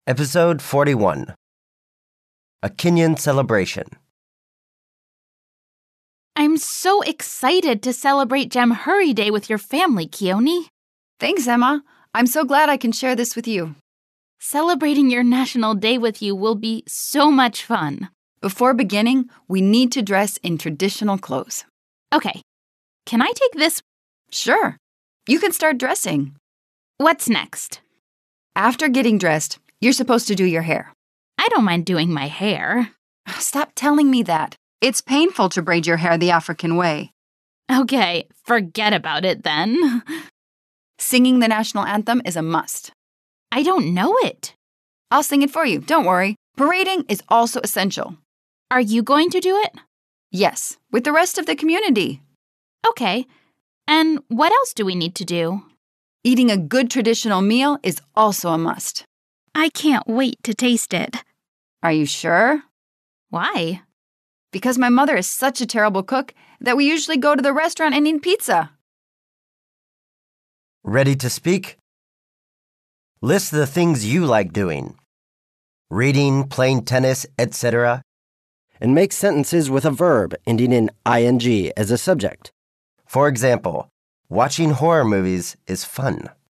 Episode 41. A Kenyan Celebration. I'm so excited to celebrate Jamhuri Day with your family, Keone. Thanks, Emma. I'm so glad I can share this with you. Celebrating your National Day with you will be so much fun. Before beginning, we need to dress in traditional clothes. Okay, can I take this? Sure. You can start dressing. What's next? After getting dressed, you're supposed to do your hair. I don't mind doing my hair. Stop telling me that. It's painful to braid your hair the African way. Okay, forget about it then. Singing the national anthem is a must. I don't know it. I'll sing it for you, don't worry. Parading is also essential. Are you going to do it? Yes, with the rest of the community. Okay, and what else do we need to do? Eating a good traditional meal is also a must. I can't wait to taste it. Are you sure? Why? Because my mother is such a terrible cook that we usually go to the restaurant and eat pizza. Ready to speak? List the things you like doing. Reading, playing tennis, etc. And make sentences with a verb ending in ing as a subject. For example, watching horror movies is fun.